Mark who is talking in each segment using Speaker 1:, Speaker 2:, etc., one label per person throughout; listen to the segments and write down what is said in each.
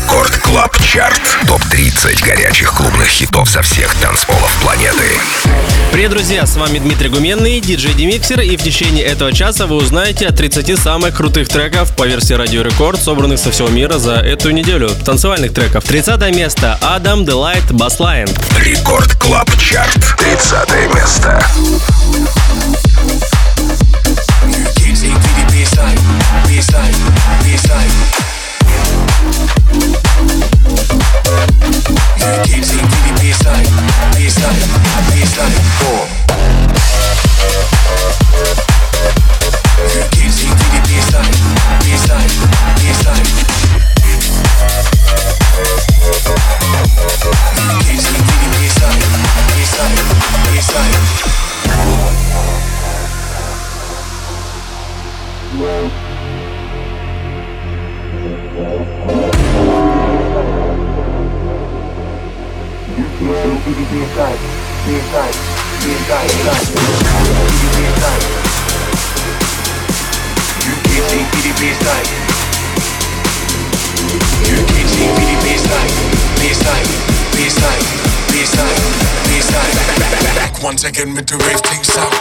Speaker 1: Рекорд Клаб Чарт. Топ-30 горячих клубных хитов со всех танцполов планеты.
Speaker 2: Привет, друзья, с вами Дмитрий Гуменный, диджей Демиксер, и в течение этого часа вы узнаете о 30 самых крутых треков по версии Радио Рекорд, собранных со всего мира за эту неделю. Танцевальных треков. 30 место. Адам Делайт, Баслайн.
Speaker 1: Рекорд Клаб Чарт. 30 место.
Speaker 3: Once again with the rave things up.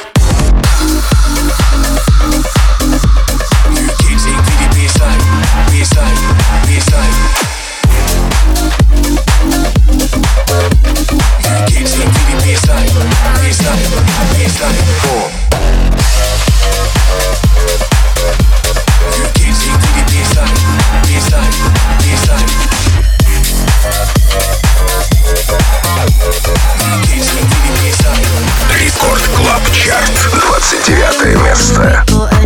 Speaker 3: You can't take the baseline, baseline, baseline. You can't take the baseline, baseline, baseline. You can't take the baseline, baseline, baseline.
Speaker 1: Рекорд Клаб Чарт. 29 место.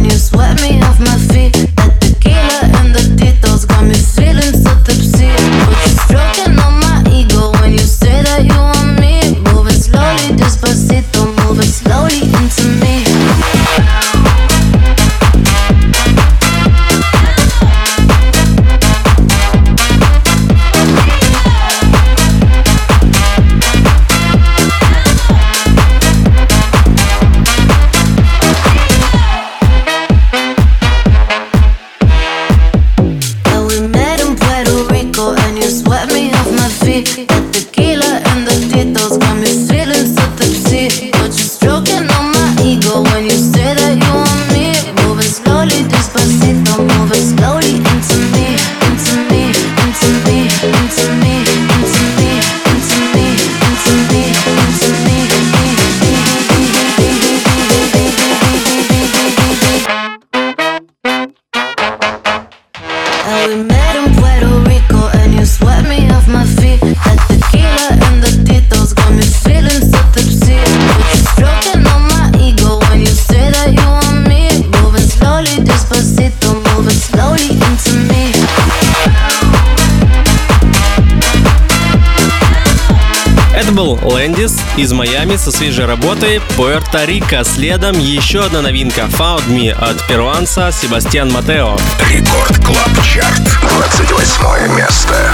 Speaker 2: Лэндис из Майами со свежей работой Пуэрто-Рико. Следом еще одна новинка Found Me от перуанца Себастьян Матео.
Speaker 1: Рекорд Клаб Чарт. 28 место.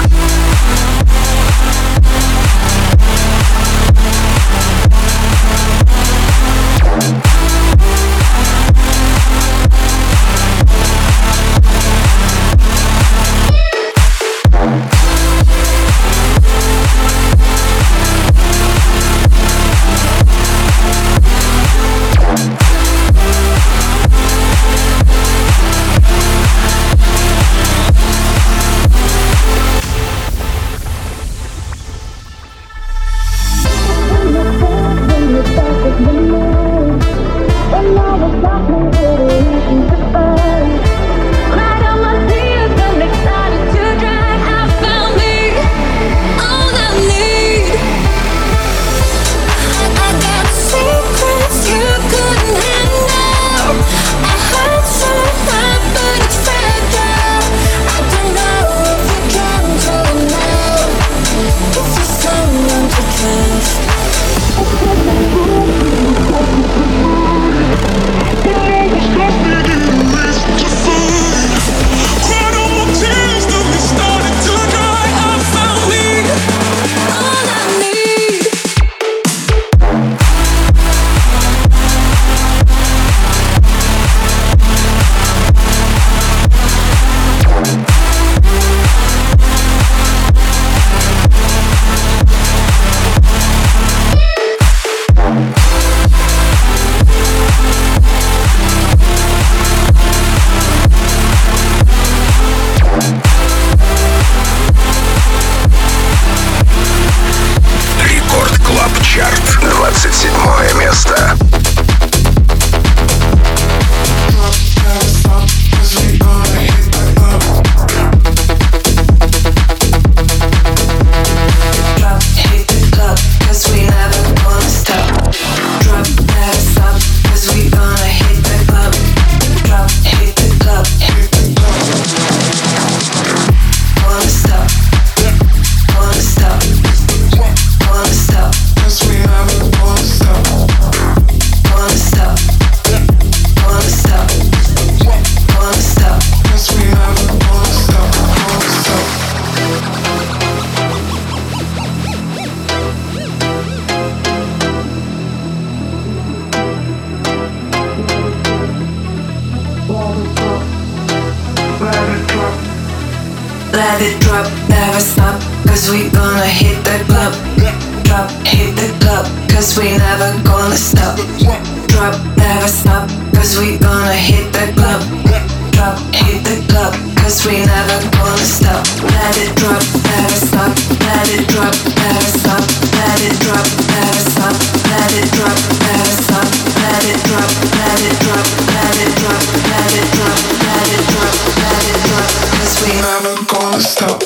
Speaker 4: let it drop, never stop, cause we gonna hit the club. Drop, hit the club, cause we never gonna stop. Drop, never stop, cause we gonna hit the club. Drop, hit the club, cause we never gonna stop. Let it drop, never stop, let it drop, never stop, let it drop, never stop, let it drop, never stop, let it drop, let it drop, let it drop, let it drop, let it drop, let it drop, cause we never gonna stop.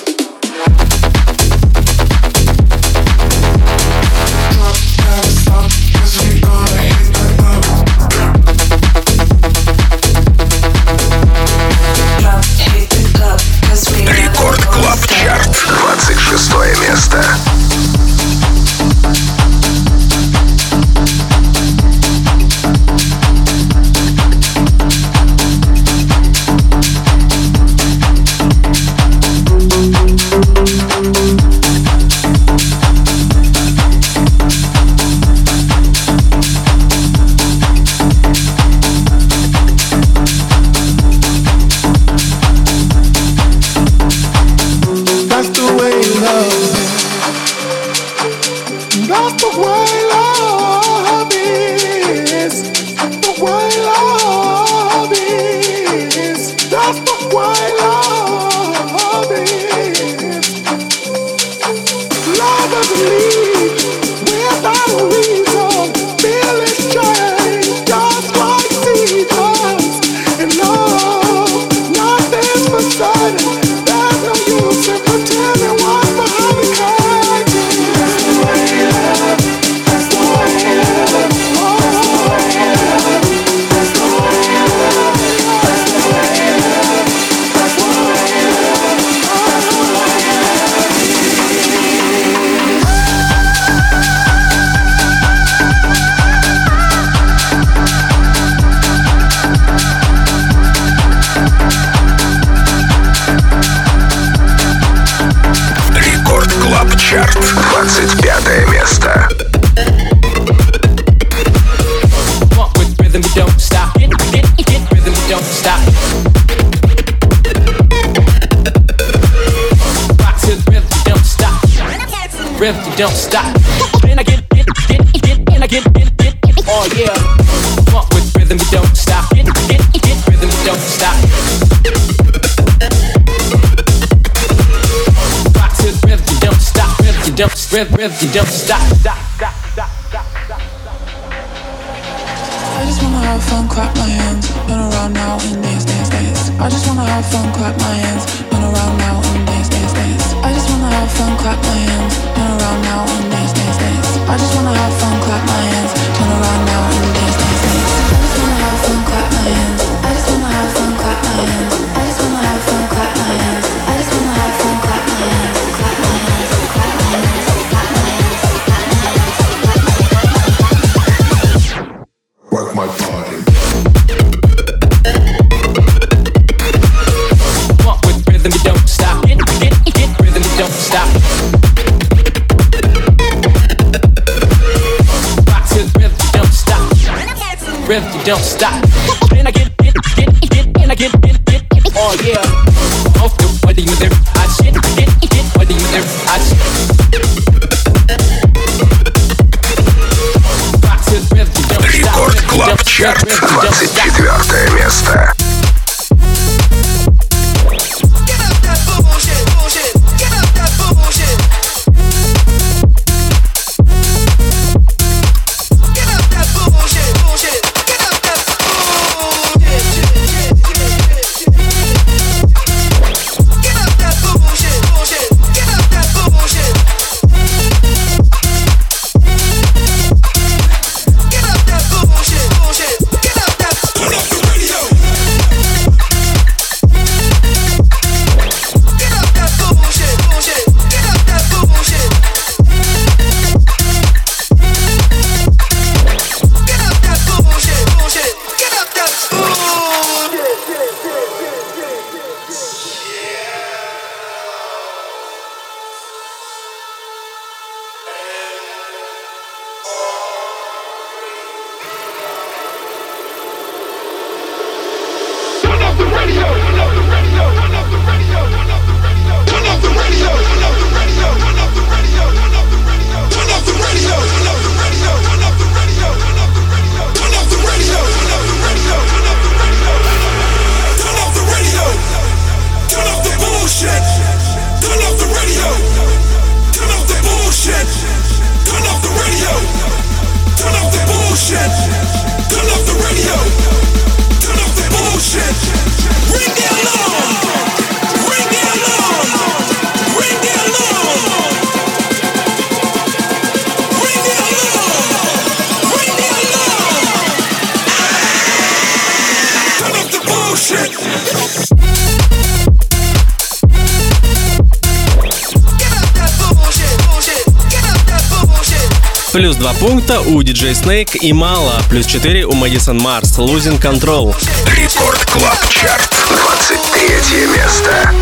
Speaker 1: Рекорд Клаб Чарт, 26 место. Чарт, 25 место.
Speaker 5: Rhythm, you don't stop. And I get, oh yeah. Walk with rhythm, you don't stop. Get rhythm, you don't stop. Rock to the rhythm, you don't stop. Rhythm, you don't stop.
Speaker 6: I just wanna have fun, clap my hands, run around now and dance, dance, dance. I just wanna have fun, clap my hands, run around now and dance, dance, dance. I just wanna have fun, clap my hands, run around now and dance, dance, dance. I just wanna have fun, clap my hands, turn around now and dance, dance, dance. I just wanna have fun, clap my hands. I just wanna have fun, clap my hands. I just wanna have fun, clap my hands. I just wanna have fun, clap my hands, clap my hands, clap my hands, clap my hands, clap my hands.
Speaker 3: Work my body.
Speaker 5: Walk with rhythm, you don't stop. Get rhythm, you don't stop. Rock to the rhythm, you don't stop. Rhythm, you don't stop. And I get, oh yeah. Off the body with every hot shit. Get body with every hot shit. Rock to the rhythm, you don't stop.
Speaker 1: Рекорд Клаб Чарт, 24 место.
Speaker 2: Плюс 2 пункта у DJ Snake и Mala. Плюс 4 у Madison Mars. Losing Control.
Speaker 1: Рекорд Клаб Чарт. 23 место.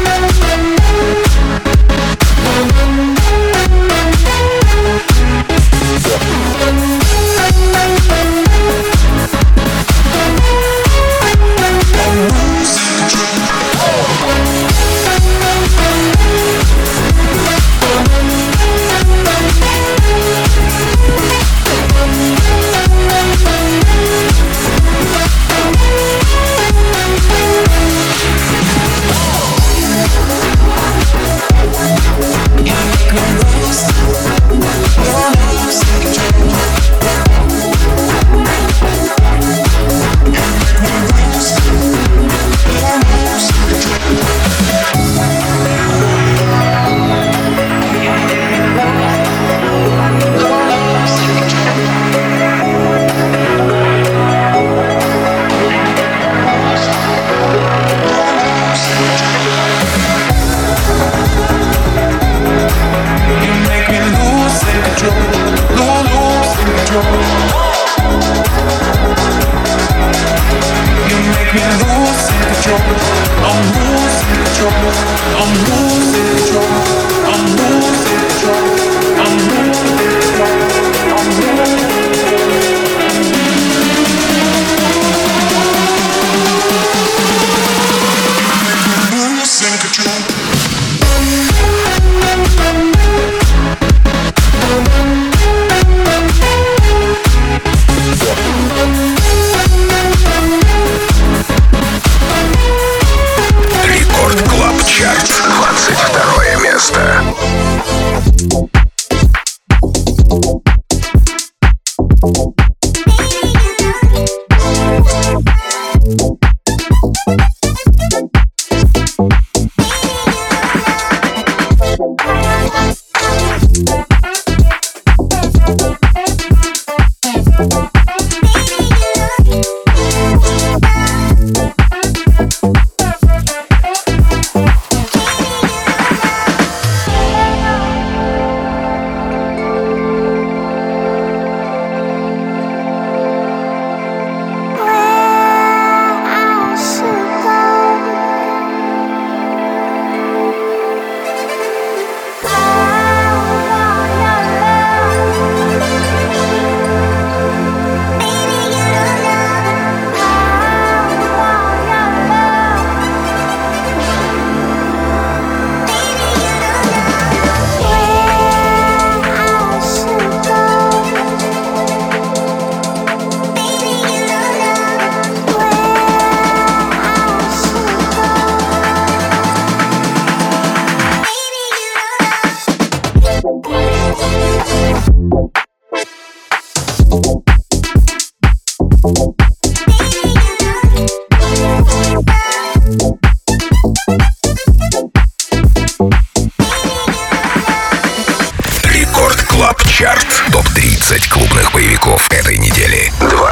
Speaker 1: Топ-30 клубных боевиков этой недели.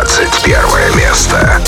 Speaker 1: 21 место.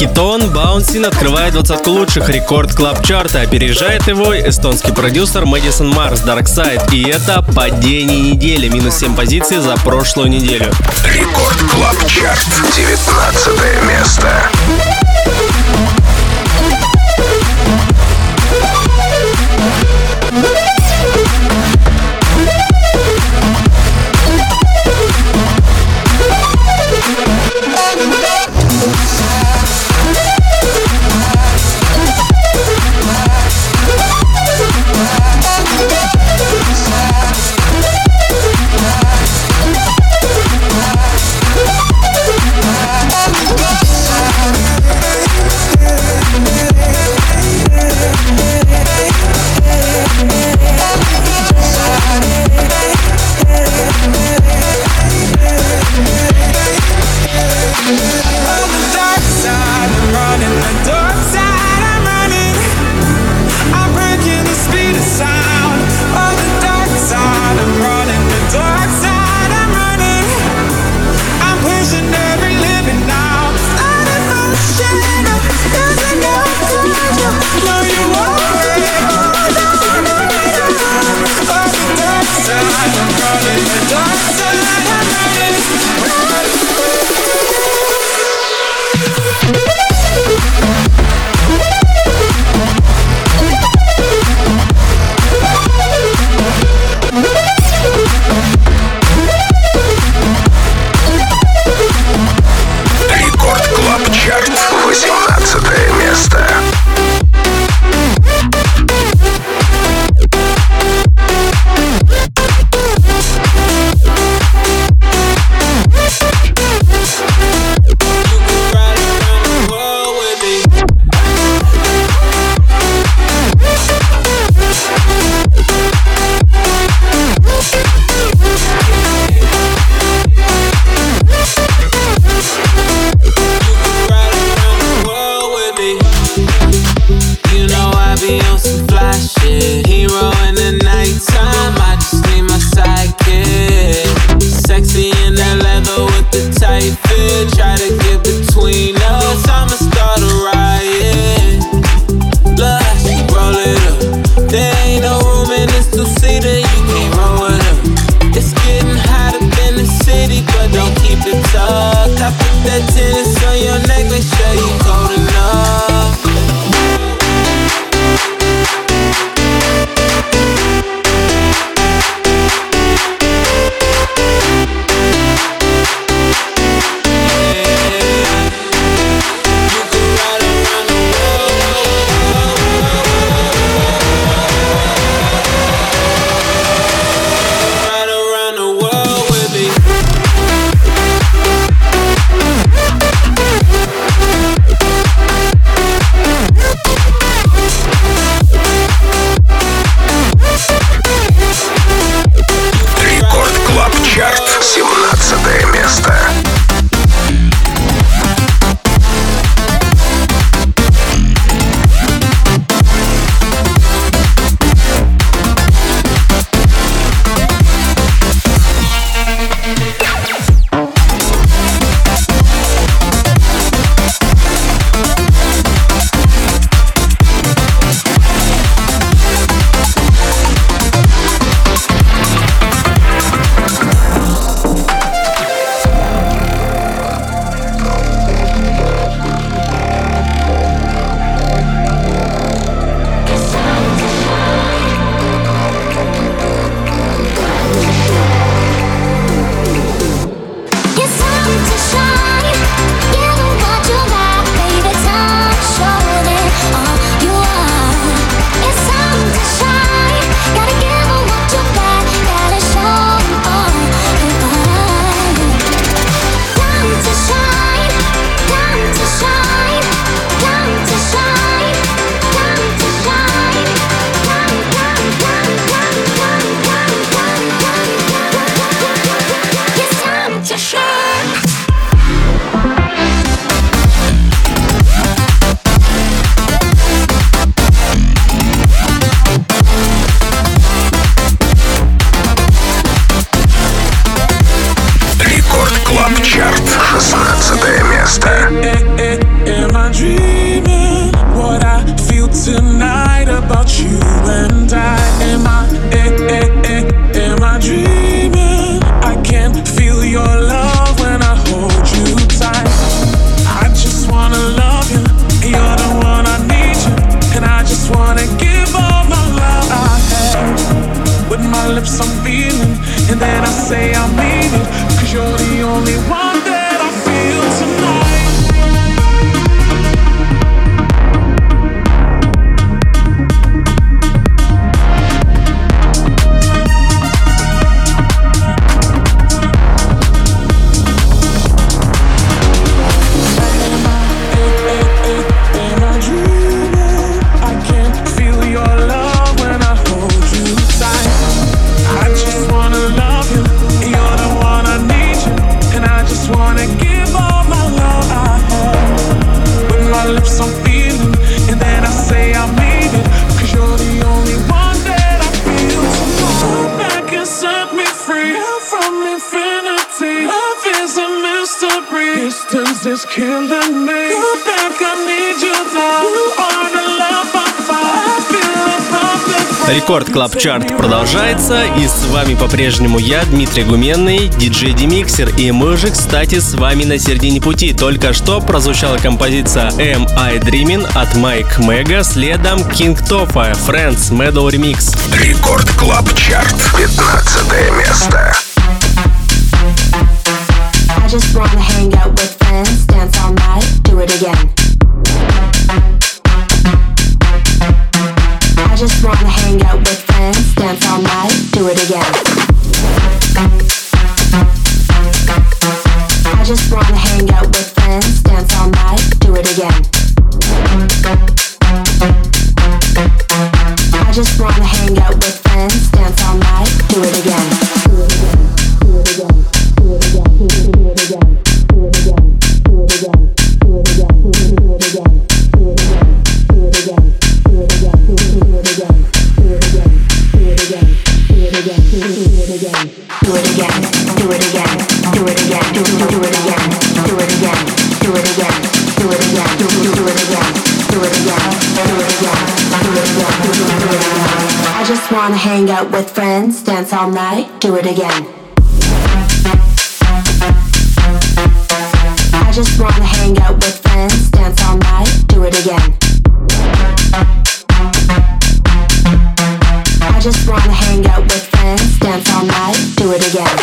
Speaker 2: Хитон Bouncing открывает 20 лучших рекорд клаб чарта. Опережает его эстонский продюсер Мэдисон Марс Dark Side. И это падение недели. Минус 7 позиций за прошлую неделю.
Speaker 1: Рекорд Клаб Чарт. 19 место.
Speaker 7: dreaming? What I feel tonight about you and I. Am I dreaming? I can feel your love when I hold you tight. I just wanna love you, you're the one I need you, and I just wanna give all my love I have. With my lips I'm feeling, and then I say I mean it, 'cause you're the only one that I feel tonight. Is killing me. Go back, I need you now. You are the love I find. Feel a perfect.
Speaker 2: Рекорд Клаб Чарт продолжается, и с вами по-прежнему я, Дмитрий Гуменный, диджей Демиксер, и мы же, кстати, с вами на середине пути. Только что прозвучала композиция Am I Dreaming от Майк Мэга, следом King Topha, Friends, Meadow Remix.
Speaker 1: Рекорд Клаб Чарт, 15 место.
Speaker 8: I just wanna hang out with friends, dance all night, do it again. I just wanna hang out with friends, dance all night, do it again. I just wanna hang out with friends, dance all night, do it again. I just wanna hang out with friends, dance all night, do it again. Wanna hang out with friends, dance all night, do it again. I just wanna hang out with friends, dance all night, do it again. I just wanna hang out with friends, dance all night, do it again.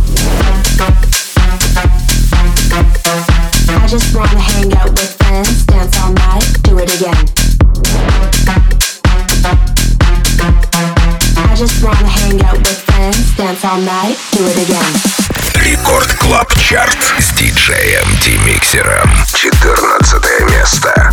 Speaker 8: I just wanna hang out with friends, dance all night, do it again. I just wanna hang out with friends, dance all night, do it again.
Speaker 1: Рекорд Клаб Чарт с диджеем Демиксером. 14 место.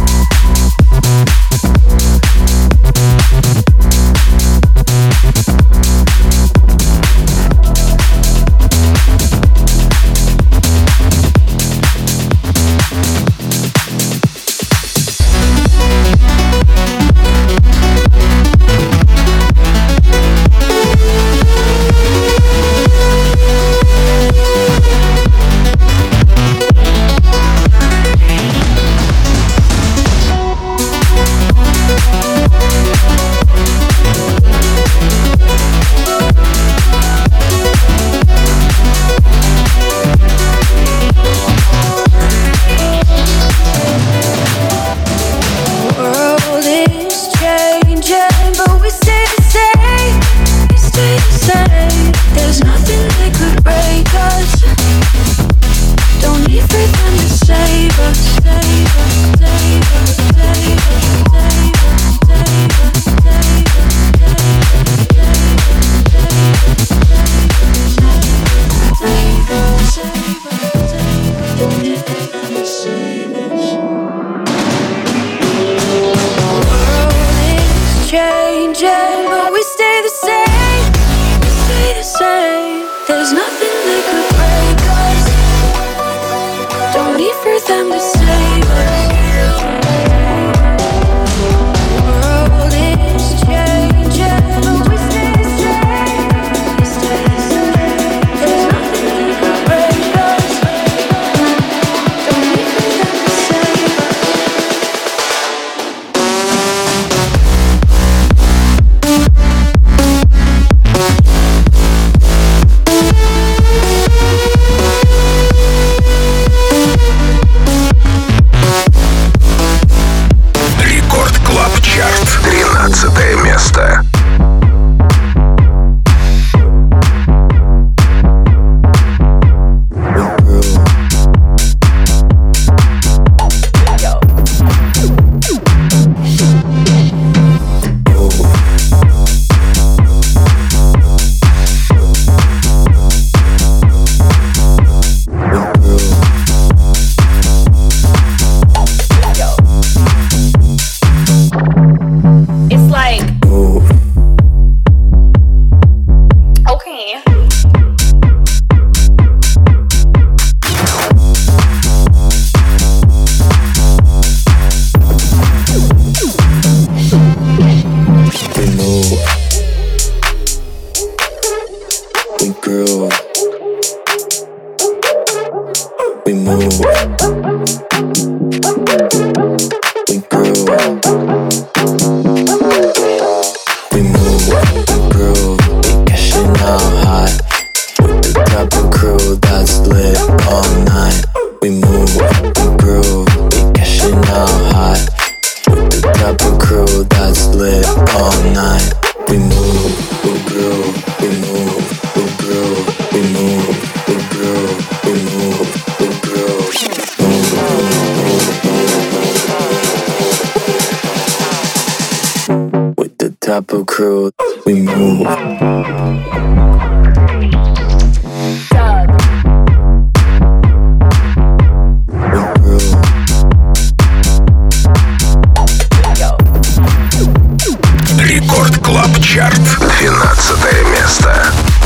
Speaker 9: Chopper crew, we move.
Speaker 1: Рекорд Клаб Чарт, 12 место.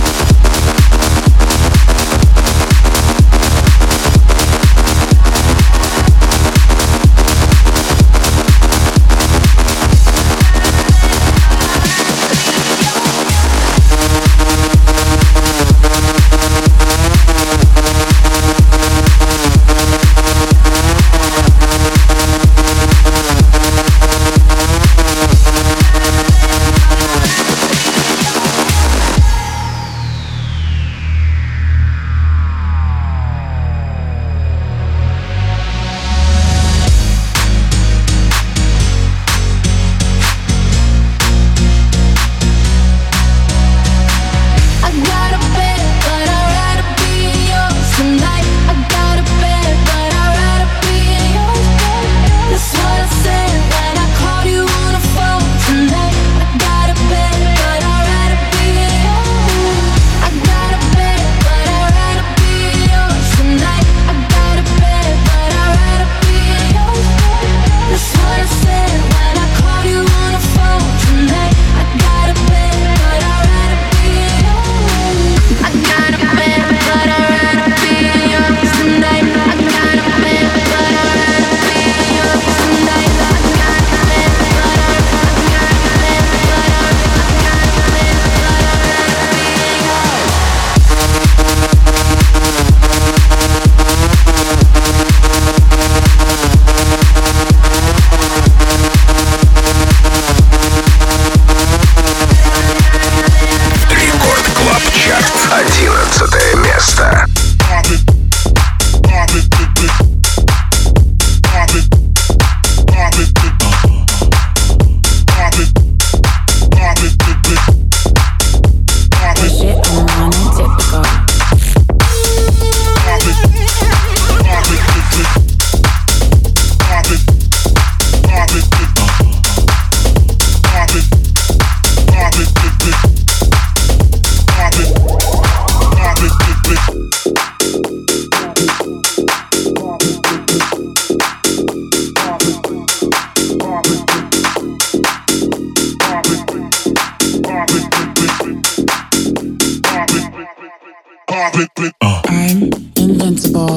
Speaker 6: I'm invincible,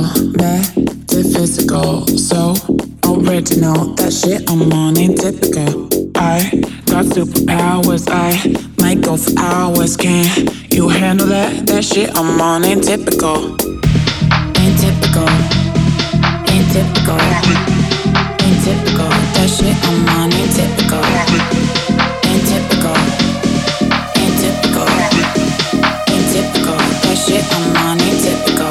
Speaker 6: metaphysical, so original. That shit I'm on ain't typical. I got superpowers, I might go for hours. Can you handle that? That shit I'm on ain't typical. Ain't typical. Ain't typical. Ain't typical. That shit I'm on ain't typical. Ain't typical. Ain't typical. Ain't typical. That shit I'm on ain't typical.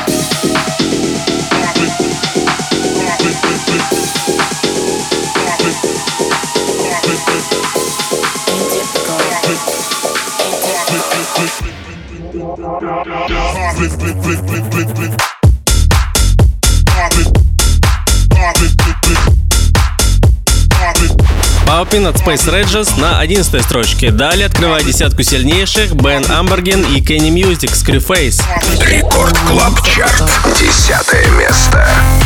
Speaker 2: Poppin' от Space Regis на 11 строчке. Далее открывает десятку сильнейших Бен Амберген и Kenny Music Screwface.
Speaker 1: Рекорд Клаб Чарт, 10 место.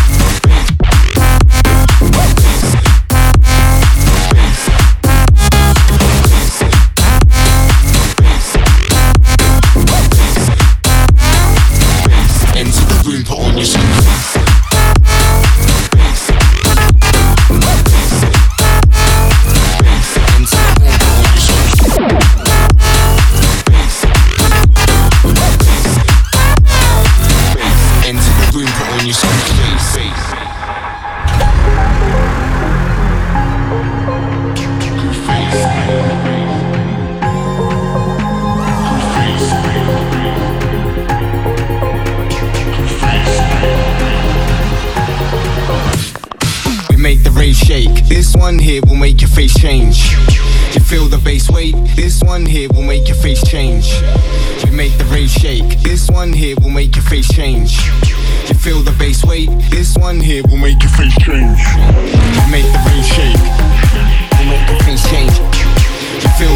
Speaker 10: This one here will make your face change. You feel the bass weight? This one here will make your face change. We make the rave shake. This one here will make your face change. You feel the bass weight? This one here will make your face change. We make the rave shake. We'll make your face change. You feel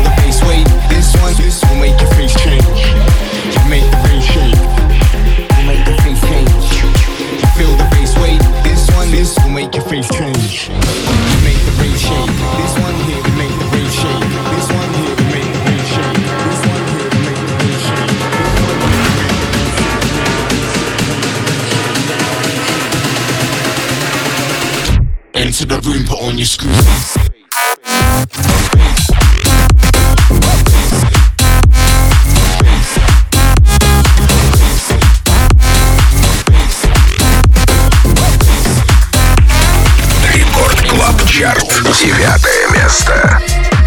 Speaker 10: change. We make the rave shake. This one here, we make the rave shake. This one here, we make the rave shake. This one here, we make the rave shake. Enter the room, put on your screws.
Speaker 1: Чарт, 9 место.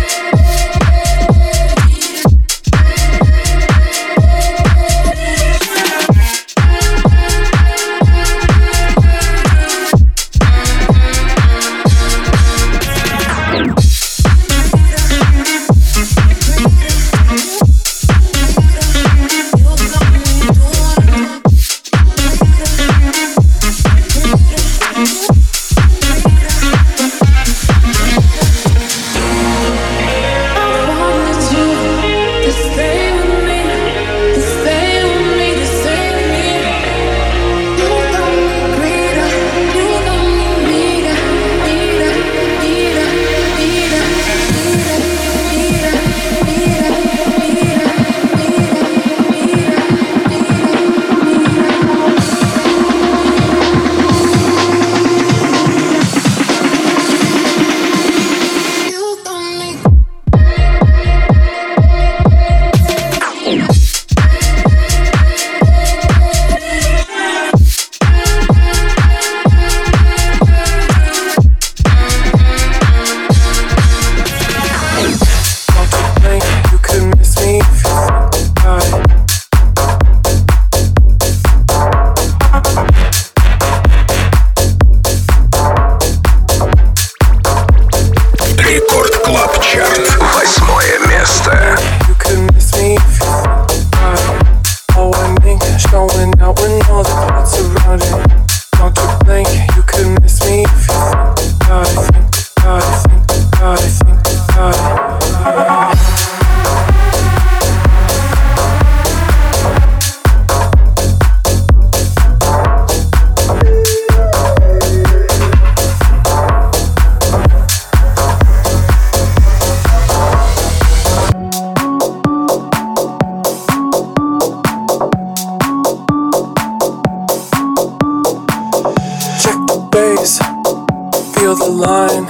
Speaker 11: Feel the line,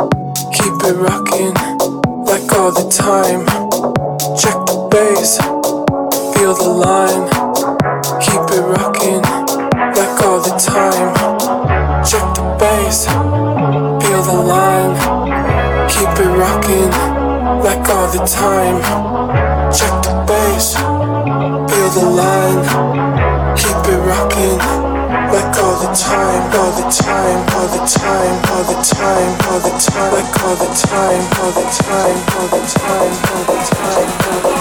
Speaker 11: keep it rocking like all the time. Check the bass, feel the line, keep it rocking like all the time. Check the bass, feel the line, keep it rocking like all the time. Check the bass, feel the line, keep it rocking like all the time, all the time, all the time, all the time, all the time, like all the time, all the time, all the time, all the time, all the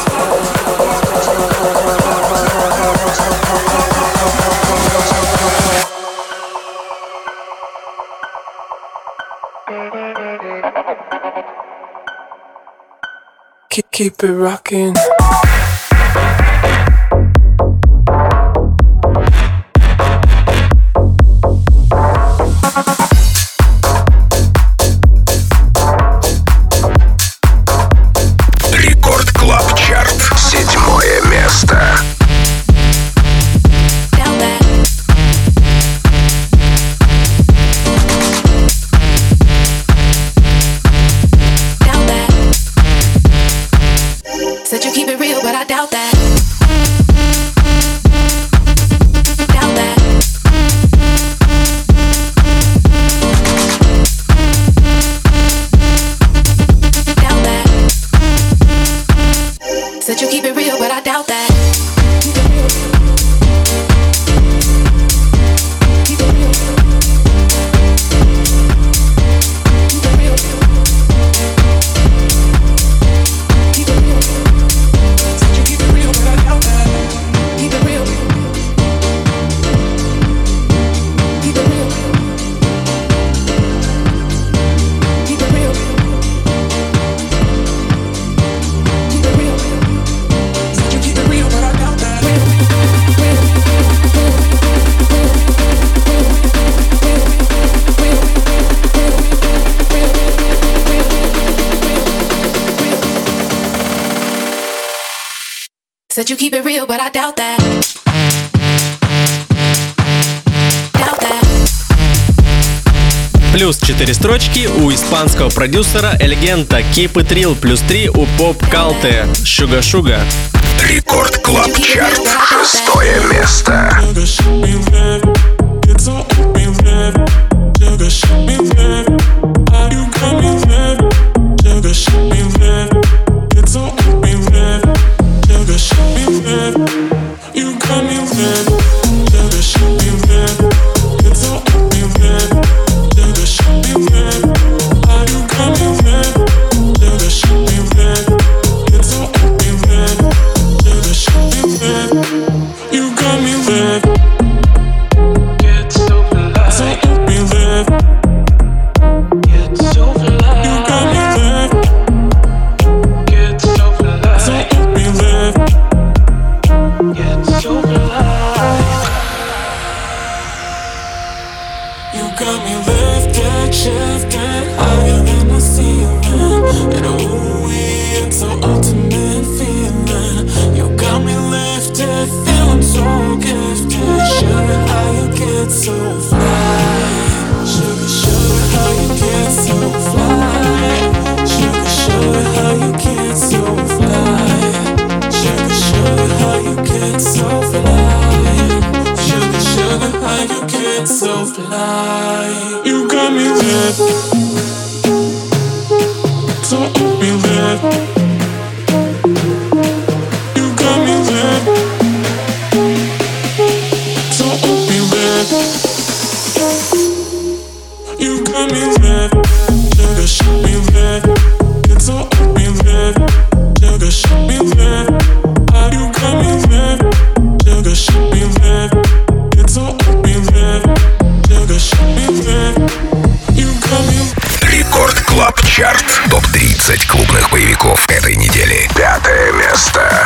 Speaker 11: time. Keep it rocking.
Speaker 12: Said you keep it
Speaker 6: Said you keep it real, but I doubt that.
Speaker 2: Плюс 4 строчки у испанского продюсера Эльгента. Keep It Real. Плюс 3 у Поп Калте. Sugar Sugar.
Speaker 1: Рекорд Клаб Чарт. 6-е место. Рекорд Клаб Чарт. Топ-30 клубных боевиков этой недели. 5-е место.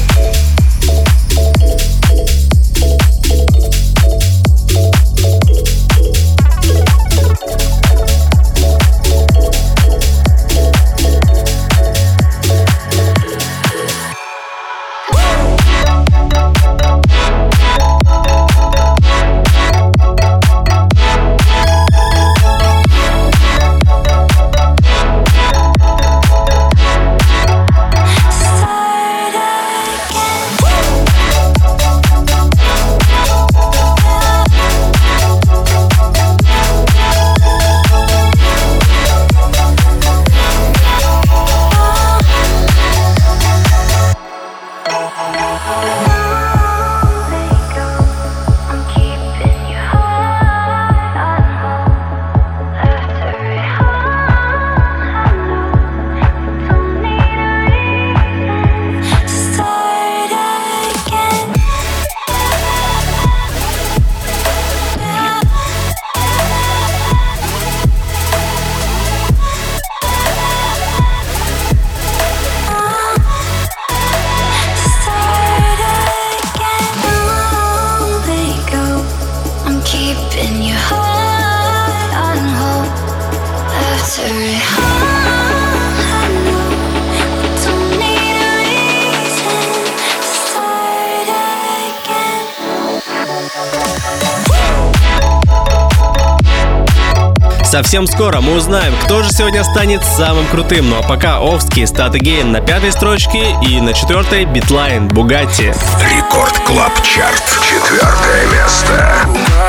Speaker 2: Совсем скоро мы узнаем, кто же сегодня станет самым крутым. Ну а пока Овский, Start Again на 5-й строчке и на 4-й Beatline, Bugatti.
Speaker 1: Рекорд Клаб Чарт. 4-е место.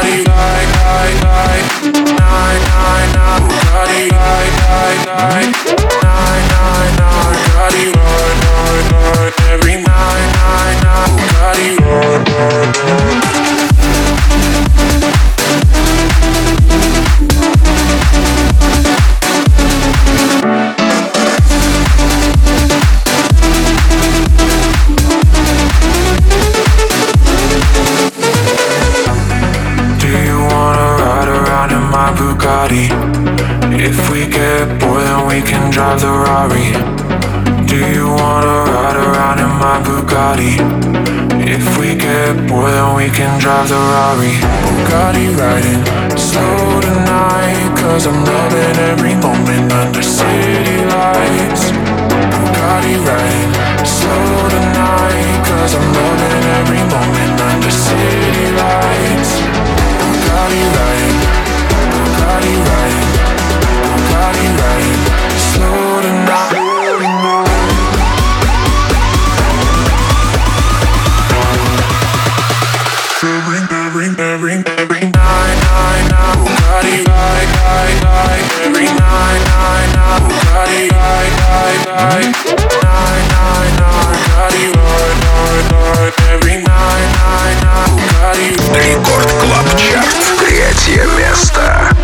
Speaker 12: If we get bored, then we can drive the Rari. Do you wanna ride around in my Bugatti? If we get bored, then we can drive the Rari. Bugatti riding slow tonight, 'cause I'm loving every moment under city lights. Bugatti riding slow tonight, 'cause 'cause I'm loving every moment under city lights. Bugatti right, Bugatti right, Bugatti right. Slow tonight. Every night, Bugatti right, every night, Bugatti right, Bugatti right, every night, Bugatti.
Speaker 1: Рекорд Клаб Чарт. 3 место.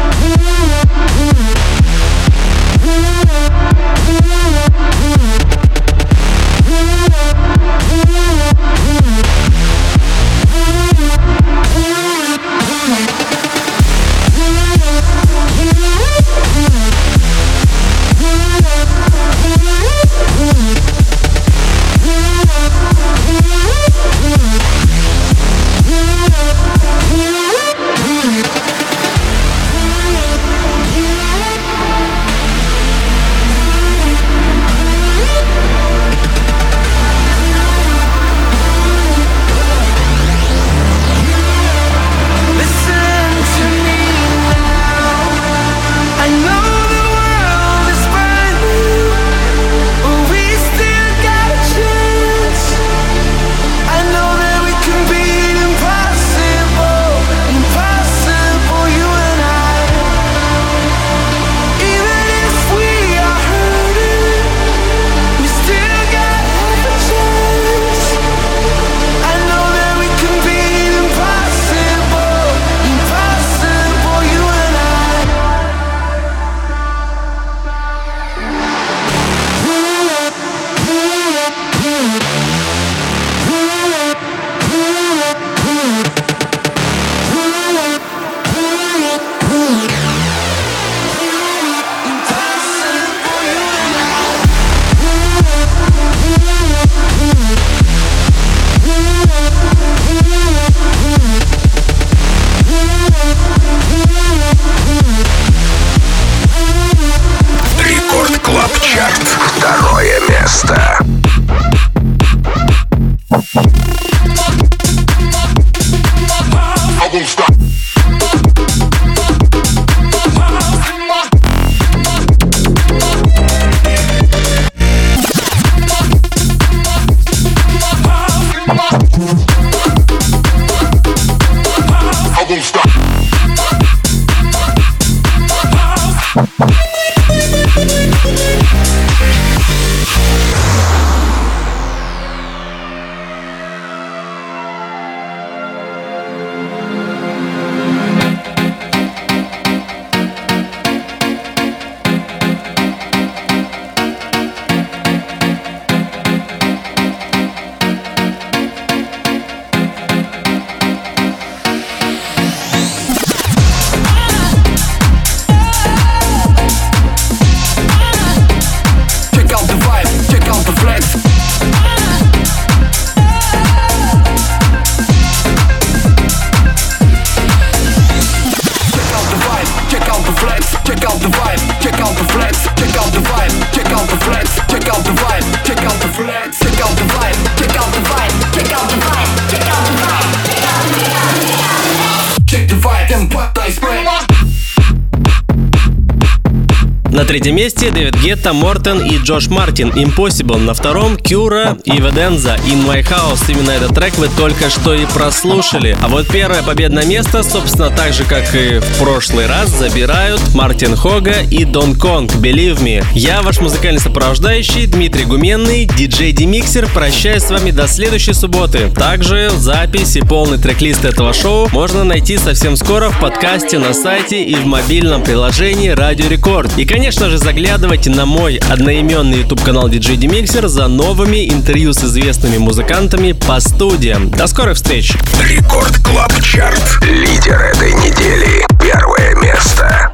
Speaker 2: На третьем месте Дэвид Гетта, Мортен и Джош Мартин, Impossible. На втором Кюра и Веденза, In My House. Именно этот трек вы только что и прослушали. А вот первое победное место, собственно, так же, как и в прошлый раз, забирают Мартин Хога и Дон Конг, Believe Me. Я ваш музыкальный сопровождающий Дмитрий Гуменный, диджей Демиксер. Прощаюсь с вами до следующей субботы. Также запись и полный трек-лист этого шоу можно найти совсем скоро в подкасте, на сайте и в мобильном приложении Радио Рекорд. И, конечно же, заглядывайте на мой одноименный YouTube-канал DJ Demixer за новыми интервью с известными музыкантами по студиям. До скорых встреч!
Speaker 1: Рекорд Клаб Чарт. Лидер этой недели. 1 место.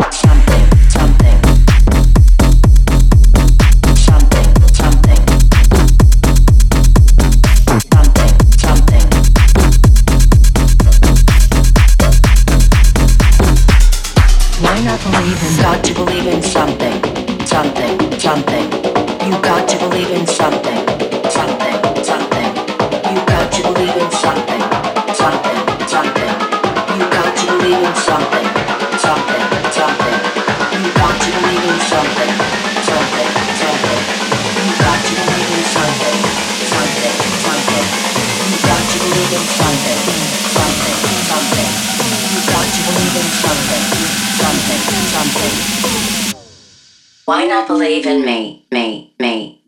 Speaker 8: Got to believe in something, something, something. You got to believe in something, something, something. You got
Speaker 13: Why not believe in me, me, me?